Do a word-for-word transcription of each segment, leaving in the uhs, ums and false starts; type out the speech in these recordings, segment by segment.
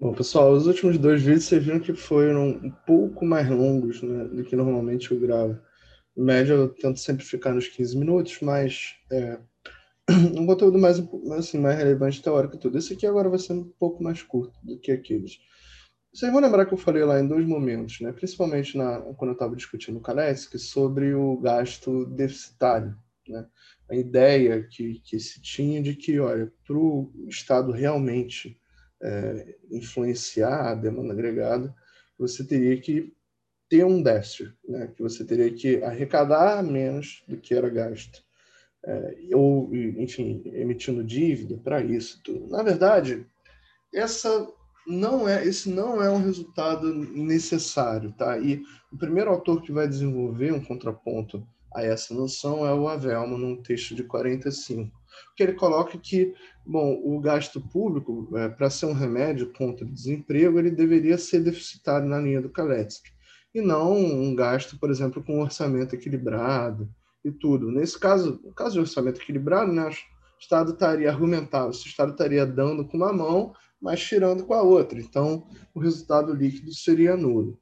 Bom, pessoal, os últimos dois vídeos vocês viram que foram um pouco mais longos, né, do que normalmente eu gravo. Em média, eu tento sempre ficar nos quinze minutos, mas é, um conteúdo mais, assim, mais relevante, teórico e tudo. Esse aqui agora vai ser um pouco mais curto do que aqueles. Vocês vão lembrar que eu falei lá em dois momentos, né, principalmente na, quando eu estava discutindo com o Kaletsky, sobre o gasto deficitário, né? A ideia que, que se tinha de que, olha, para o Estado realmente é, influenciar a demanda agregada, você teria que ter um déficit, né? Que você teria que arrecadar menos do que era gasto, é, ou, enfim, emitindo dívida para isso. Tudo. Na verdade, essa não é, esse não é um resultado necessário, tá? E o primeiro autor que vai desenvolver um contraponto a essa noção é o Havelman, num texto de quarenta e cinco, que ele coloca que, bom, o gasto público, é, para ser um remédio contra o desemprego, ele deveria ser deficitário na linha do Kaletsky, e não um gasto, por exemplo, com um orçamento equilibrado e tudo. Nesse caso, no caso de orçamento equilibrado, né, o Estado estaria argumentando, o Estado estaria dando com uma mão, mas tirando com a outra. Então, o resultado líquido seria nulo.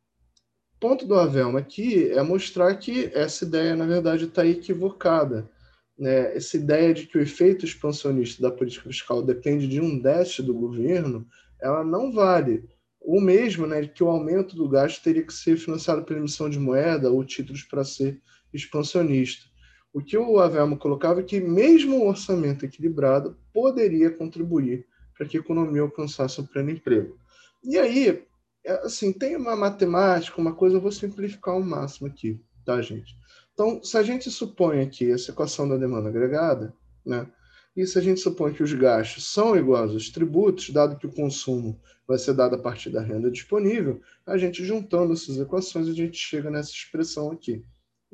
O ponto do Havelma aqui é mostrar que essa ideia, na verdade, está equivocada. Né? Essa ideia de que o efeito expansionista da política fiscal depende de um déficit do governo, ela não vale. O mesmo, né, de que o aumento do gasto teria que ser financiado pela emissão de moeda ou títulos para ser expansionista. O que o Havelma colocava é que mesmo o orçamento equilibrado poderia contribuir para que a economia alcançasse o pleno emprego. E aí, é, assim, tem uma matemática, uma coisa, eu vou simplificar ao máximo aqui, tá, gente? Então, se a gente supõe aqui essa equação da demanda agregada, né, e se a gente supõe que os gastos são iguais aos tributos, dado que o consumo vai ser dado a partir da renda disponível, a gente juntando essas equações, a gente chega nessa expressão aqui.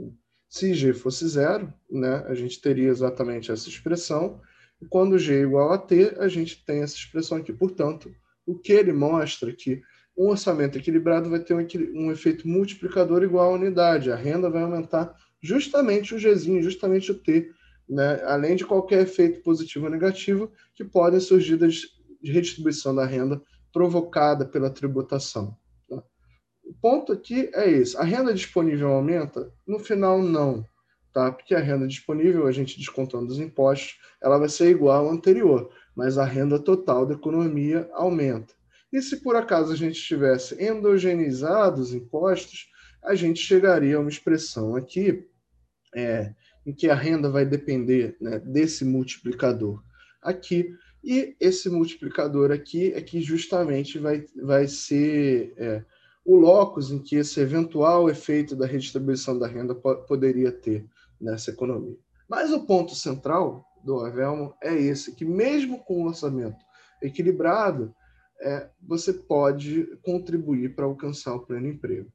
Se G fosse zero, né, a gente teria exatamente essa expressão, e quando G é igual a T, a gente tem essa expressão aqui. Portanto, o que ele mostra é que um orçamento equilibrado vai ter um, um efeito multiplicador igual à unidade. A renda vai aumentar justamente o Gzinho, justamente o T, né? Além de qualquer efeito positivo ou negativo que podem surgir da redistribuição da renda provocada pela tributação. Tá? O ponto aqui é esse. A renda disponível aumenta? No final, não. Tá? Porque a renda disponível, a gente descontando os impostos, ela vai ser igual à anterior, mas a renda total da economia aumenta. E se por acaso a gente tivesse endogeneizado os impostos, a gente chegaria a uma expressão aqui é, em que a renda vai depender, né, desse multiplicador aqui. E esse multiplicador aqui é que justamente vai, vai ser é, o locus em que esse eventual efeito da redistribuição da renda po poderia ter nessa economia. Mas o ponto central do Havelman é esse, que mesmo com o orçamento equilibrado, é, você pode contribuir para alcançar o pleno emprego.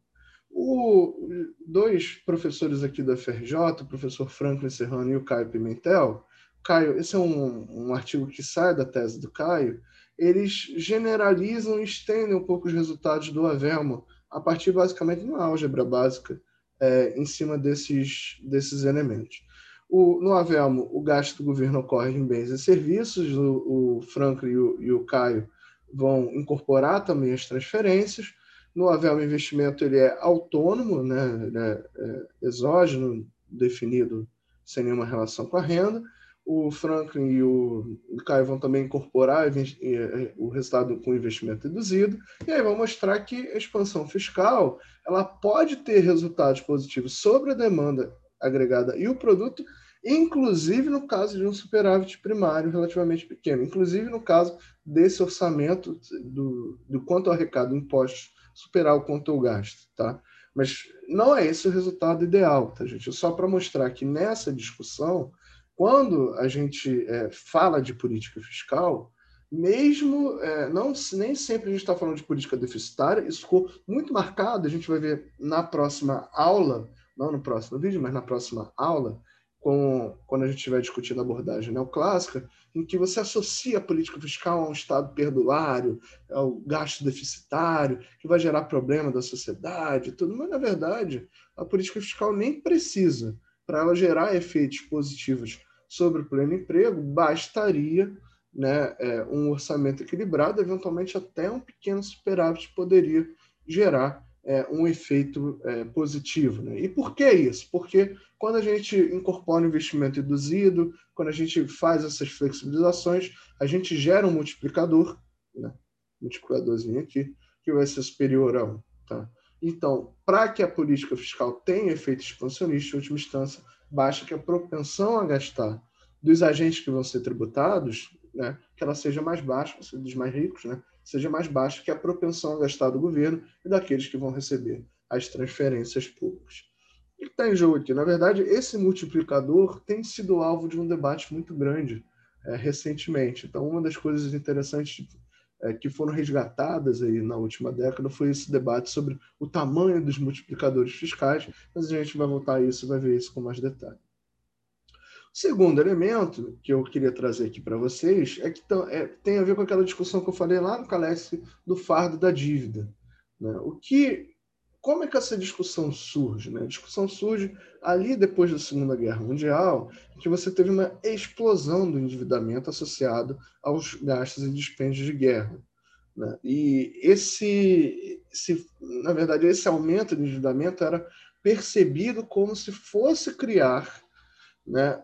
O, dois professores aqui da F R J, o professor Franklin Serrano e o Caio Pimentel, Caio, esse é um, um artigo que sai da tese do Caio, eles generalizam e estendem um pouco os resultados do Havelman a partir basicamente de uma álgebra básica é, em cima desses, desses elementos. O, no Havelman, o gasto do governo ocorre em bens e serviços, o, o Franklin e o, e o Caio vão incorporar também as transferências. No Havelman Investimento ele é autônomo, né? Ele é, é exógeno, definido sem nenhuma relação com a renda. O Franklin e o Caio vão também incorporar o resultado com investimento reduzido, e aí vão mostrar que a expansão fiscal ela pode ter resultados positivos sobre a demanda agregada e o produto, inclusive no caso de um superávit primário relativamente pequeno, inclusive no caso desse orçamento do, do quanto arrecada impostos superar o quanto eu gasto, tá? Mas não é esse o resultado ideal, tá, gente? Só para mostrar que nessa discussão, quando a gente é, fala de política fiscal, mesmo é, não nem sempre a gente está falando de política deficitária, isso ficou muito marcado, a gente vai ver na próxima aula, não no próximo vídeo, mas na próxima aula, com, quando a gente estiver discutindo a abordagem neoclássica, em que você associa a política fiscal a um Estado perdulário, ao gasto deficitário, que vai gerar problema da sociedade, tudo, mas na verdade a política fiscal nem precisa. Para ela gerar efeitos positivos sobre o pleno emprego, bastaria né, é, um orçamento equilibrado, eventualmente até um pequeno superávit poderia gerar é, um efeito é, positivo. Né? E por que isso? Porque quando a gente incorpora o investimento induzido, quando a gente faz essas flexibilizações, a gente gera um multiplicador, né? Multiplicadorzinho aqui, que vai ser superior a um. Tá? Então, para que a política fiscal tenha efeito expansionista, em última instância, basta que a propensão a gastar dos agentes que vão ser tributados, né, que ela seja mais baixa, dos mais ricos, né, seja mais baixa que a propensão a gastar do governo e daqueles que vão receber as transferências públicas. O que está em jogo aqui? Na verdade, esse multiplicador tem sido alvo de um debate muito grande é, recentemente. Então, uma das coisas interessantes é, que foram resgatadas aí na última década foi esse debate sobre o tamanho dos multiplicadores fiscais, mas a gente vai voltar a isso e vai ver isso com mais detalhe. O segundo elemento que eu queria trazer aqui para vocês é que é, tem a ver com aquela discussão que eu falei lá no Caleste do fardo da dívida. Né? O que, como é que essa discussão surge? Né? A discussão surge ali depois da Segunda Guerra Mundial, que você teve uma explosão do endividamento associado aos gastos e dispêndios de guerra. Né? E esse, esse, na verdade, esse aumento de endividamento era percebido como se fosse criar, né,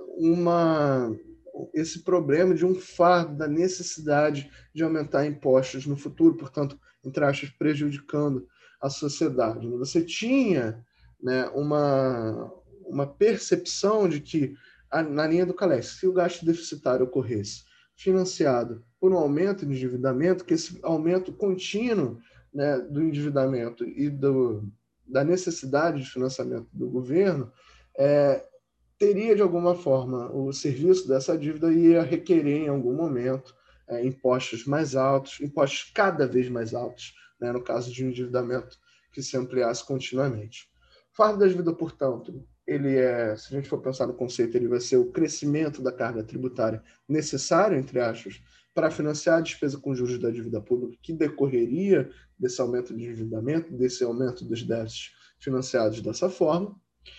uma, esse problema de um fardo da necessidade de aumentar impostos no futuro, portanto, entre aspas, prejudicando a sociedade. Você tinha, né, uma, uma percepção de que, na linha do Caleste, se o gasto deficitário ocorresse financiado por um aumento de endividamento, que esse aumento contínuo, né, do endividamento e do, da necessidade de financiamento do governo é, teria, de alguma forma, o serviço dessa dívida ia requerer, em algum momento, é, impostos mais altos, impostos cada vez mais altos, né, no caso de um endividamento que se ampliasse continuamente. O fardo da dívida, portanto, ele é, se a gente for pensar no conceito, ele vai ser o crescimento da carga tributária necessário, entre aspas, para financiar a despesa com juros da dívida pública que decorreria desse aumento de endividamento, desse aumento dos déficits financiados dessa forma.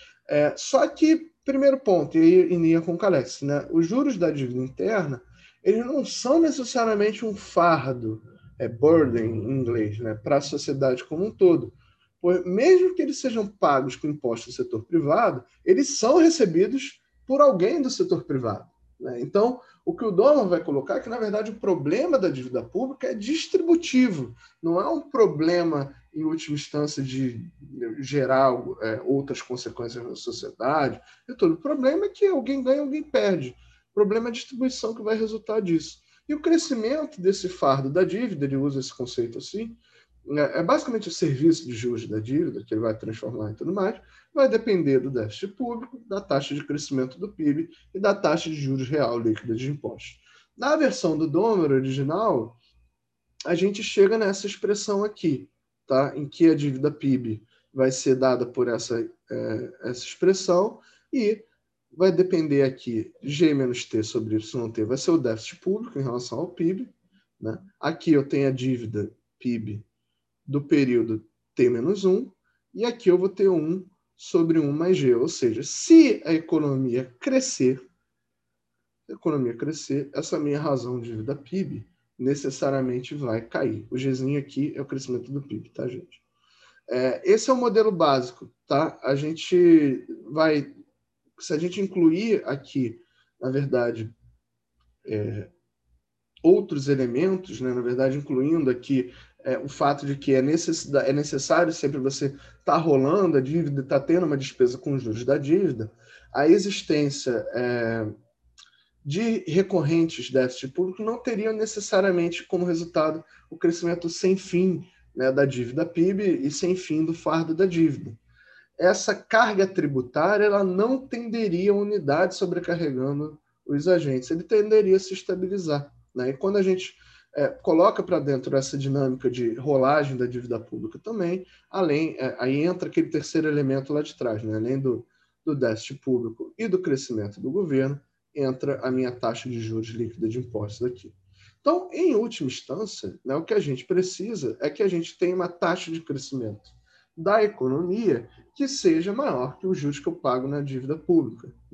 É, só que, primeiro ponto, e aí em linha com o Caleste, né, os juros da dívida interna, eles não são necessariamente um fardo, é burden em inglês, né, para a sociedade como um todo. Pois, mesmo que eles sejam pagos com impostos do setor privado, eles são recebidos por alguém do setor privado. Né? Então, o que o Doman vai colocar é que, na verdade, o problema da dívida pública é distributivo, não é um problema, em última instância, de gerar é, outras consequências na sociedade. E todo o problema é que alguém ganha, alguém perde. O problema é a distribuição que vai resultar disso. E o crescimento desse fardo da dívida, ele usa esse conceito assim, é basicamente o serviço de juros da dívida, que ele vai transformar e tudo mais, vai depender do déficit público, da taxa de crescimento do P I B e da taxa de juros real líquida de impostos. Na versão do Domer original, a gente chega nessa expressão aqui, tá? Em que a dívida P I B vai ser dada por essa, é, essa expressão e vai depender aqui G menos T sobre Y T, vai ser o déficit público em relação ao P I B. Né? Aqui eu tenho a dívida P I B do período T menos um, e aqui eu vou ter um sobre um mais G, ou seja, se a economia crescer, a economia crescer, essa minha razão de dívida P I B necessariamente vai cair. O Gzinho aqui é o crescimento do P I B, tá, gente? É, esse é o modelo básico, tá? A gente vai, se a gente incluir aqui, na verdade, é, outros elementos, né, na verdade, incluindo aqui é, o fato de que é, é necessário sempre você estar tá rolando a dívida, estar tá tendo uma despesa com juros da dívida, a existência é, de recorrentes déficit público não teria necessariamente como resultado o crescimento sem fim, né, da dívida P I B e sem fim do fardo da dívida. Essa carga tributária ela não tenderia a unidade sobrecarregando os agentes, ele tenderia a se estabilizar. Né? E quando a gente é, coloca para dentro essa dinâmica de rolagem da dívida pública também, além, é, aí entra aquele terceiro elemento lá de trás, né? Além do, do déficit público e do crescimento do governo, entra a minha taxa de juros líquida de impostos aqui. Então, em última instância, né, o que a gente precisa é que a gente tenha uma taxa de crescimento da economia que seja maior que os juros que eu pago na dívida pública. Né?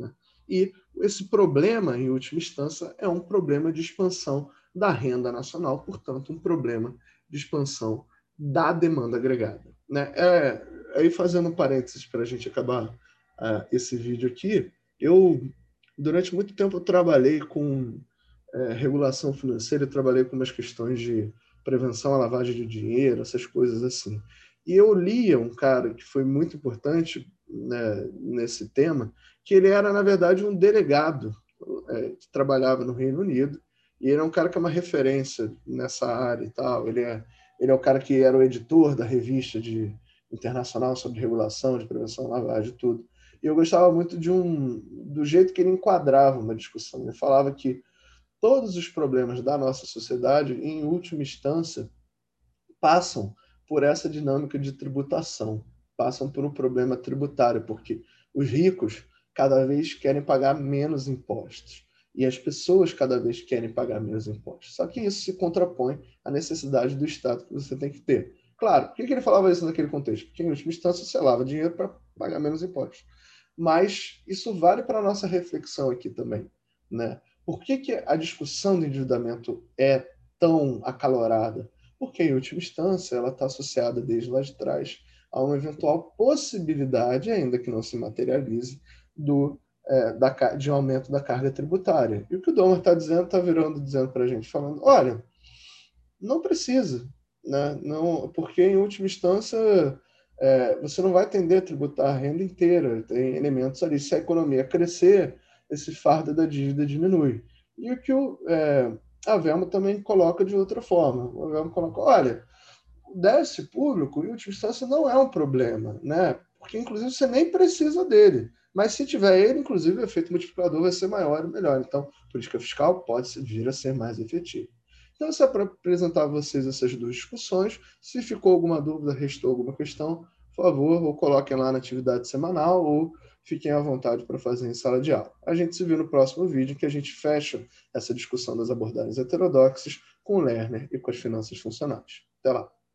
E esse problema, em última instância, é um problema de expansão da renda nacional, portanto, um problema de expansão da demanda agregada. Né? É, aí, fazendo um parênteses para a gente acabar uh, esse vídeo aqui, eu, durante muito tempo, eu trabalhei com é, regulação financeira, eu trabalhei com umas questões de prevenção à lavagem de dinheiro, essas coisas assim. E eu lia um cara que foi muito importante, né, nesse tema, que ele era, na verdade, um delegado é, que trabalhava no Reino Unido, e ele é um cara que é uma referência nessa área e tal. Ele é, ele é o cara que era o editor da revista de, internacional sobre regulação, de prevenção à lavagem e tudo. E eu gostava muito de um, do jeito que ele enquadrava uma discussão. Ele falava que todos os problemas da nossa sociedade, em última instância, passam por essa dinâmica de tributação, passam por um problema tributário, porque os ricos cada vez querem pagar menos impostos e as pessoas cada vez querem pagar menos impostos. Só que isso se contrapõe à necessidade do Estado que você tem que ter. Claro, por que ele falava isso naquele contexto? Porque, em última instância, você lava dinheiro para pagar menos impostos. Mas isso vale para a nossa reflexão aqui também, né? Por que, que a discussão do endividamento é tão acalorada? Porque, em última instância, ela está associada desde lá de trás a uma eventual possibilidade, ainda que não se materialize, do, é, da, de um aumento da carga tributária. E o que o Domer está dizendo, está virando, dizendo para a gente, falando, olha, não precisa, né? Não, porque, em última instância, é, você não vai tender a tributar a renda inteira, tem elementos ali. Se a economia crescer, esse fardo da dívida diminui. E o que o, é, a Velma também coloca de outra forma. A Velma coloca, olha, o déficit público, em última instância, não é um problema, né? Porque, inclusive, você nem precisa dele. Mas se tiver ele, inclusive, o efeito multiplicador vai ser maior e melhor. Então, a política fiscal pode vir a ser mais efetiva. Então, isso é para apresentar a vocês essas duas discussões. Se ficou alguma dúvida, restou alguma questão, por favor, ou coloquem lá na atividade semanal ou fiquem à vontade para fazer em sala de aula. A gente se vê no próximo vídeo, que a gente fecha essa discussão das abordagens heterodoxas com o Lerner e com as finanças funcionais. Até lá!